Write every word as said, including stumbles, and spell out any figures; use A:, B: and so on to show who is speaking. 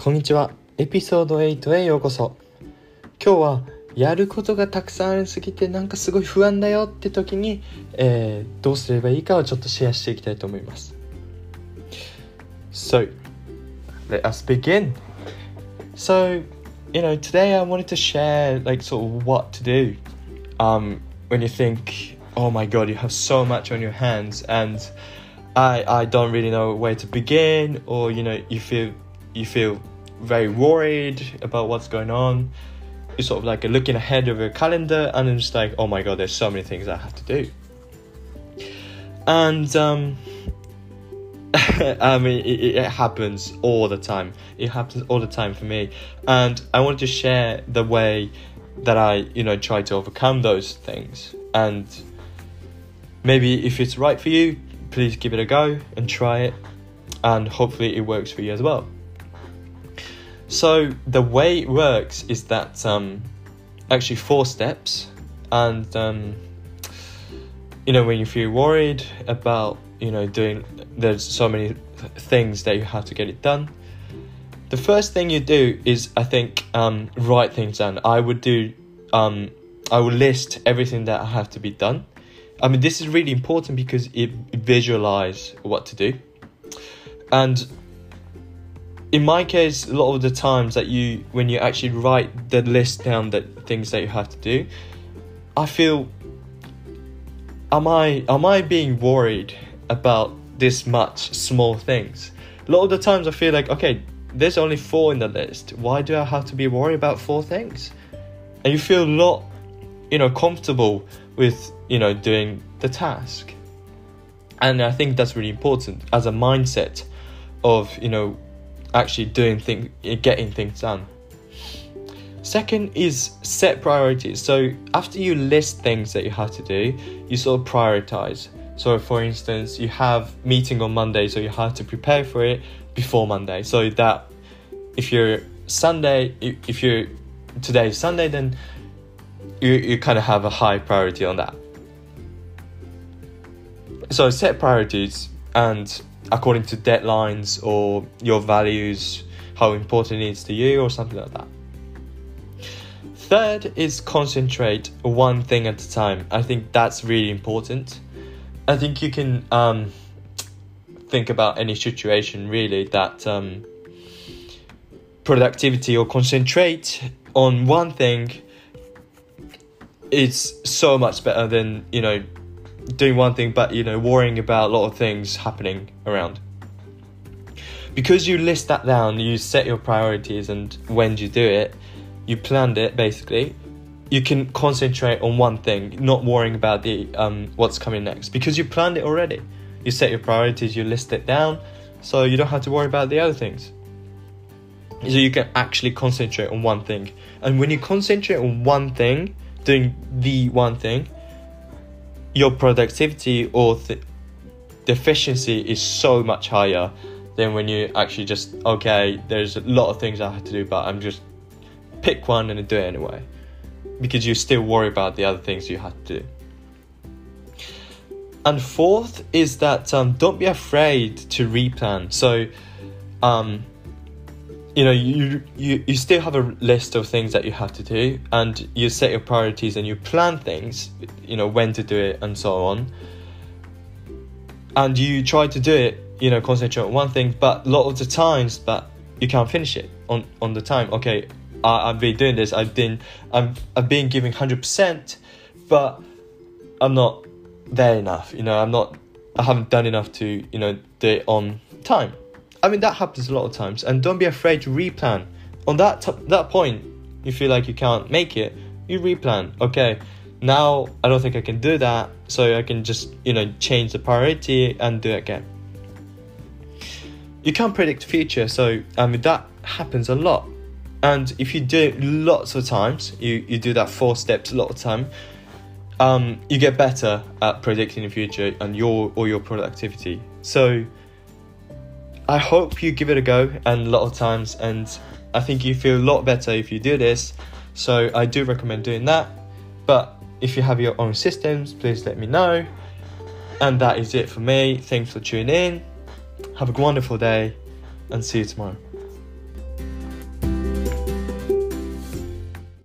A: こんにちは。エピソードはちへようこそ。今日はやることがたくさんありすぎてなんかすごい不安だよって時に、えー、どうすればいいかをちょっとシェアしていきたいと思います。So, let us begin. So, you know, today I wanted to share like sort of what to do um, when you think, oh my god, you have so much on your hands and I I don't really know where to begin, or you know, you feel you feel very worried about what's going on. You're sort of like looking ahead of your calendar and it's just like, oh my god, there's so many things I have to do. And um I mean it, it happens all the time. It happens all the time for me. And I wanted to share the way that I, you know, try to overcome those things. And maybe if it's right for you, please give it a go and try it. And hopefully it works for you as well. So the way it works is that um, actually four steps, and um, you know, when you feel worried about, you know, doing, there's so many things that you have to get it done. The first thing you do is, I think, um, write things down. I would do, um, I would list everything that I have to be done. I mean, this is really important because it visualize what to do. And in my case, a lot of the times that you, when you actually write the list down, the things that you have to do, I feel, am I, am I being worried about this much small things? A lot of the times I feel like, okay, there's only four in the list. Why do I have to be worried about four things? And you feel a lot, you know, comfortable with, you know, doing the task. And I think that's really important as a mindset of, you know, actually doing things, getting things done. Second is set priorities. So after you list things that you have to do, you sort of prioritize. So for instance, you have meeting on Monday, so you have to prepare for it before Monday. So that if you're Sunday, if you're today is Sunday, then you, you kind of have a high priority on that. So set priorities, and according to deadlines or your values, how important it is to you or something like that. Third is concentrate one thing at a time. I think that's really important. I think you can um, think about any situation really that um, productivity or concentrate on one thing is so much better than, you know, doing one thing but, you know, worrying about a lot of things happening around. Because you list that down, you set your priorities, and when you do it, you planned it basically, you can concentrate on one thing, not worrying about the um what's coming next, because you planned it already. You set your priorities, you list it down, so you don't have to worry about the other things. So you can actually concentrate on one thing. And when you concentrate on one thing, doing the one thing, your productivity or th- the efficiency is so much higher than when you actually just, okay, there's a lot of things I have to do, but I'm just pick one and do it anyway, because you still worry about the other things you have to do. And fourth is that um, don't be afraid to replan. So, um, you know, you, you you still have a list of things that you have to do, and you set your priorities and you plan things, you know, when to do it and so on. And you try to do it, you know, concentrate on one thing, but a lot of the times, but you can't finish it on, on the time. Okay, I, I've been doing this, I've been, I'm, I've been giving one hundred percent, but I'm not there enough, you know, I'm not, I haven't done enough to, you know, do it on time. I mean, that happens a lot of times, and don't be afraid to replan. On that t- that point, you feel like you can't make it, you replan. Okay, now I don't think I can do that, so I can just, you know, change the priority and do it again. You can't predict the future, so I mean, that happens a lot. And if you do it lots of times, you, you do that four steps a lot of time, um, you get better at predicting the future and your or your productivity. So I hope you give it a go, and a lot of times, and I think you feel a lot better if you do this. So I do recommend doing that. But if you have your own systems, please let me know. And that is it for me. Thanks for tuning in. Have a wonderful day, and see you tomorrow.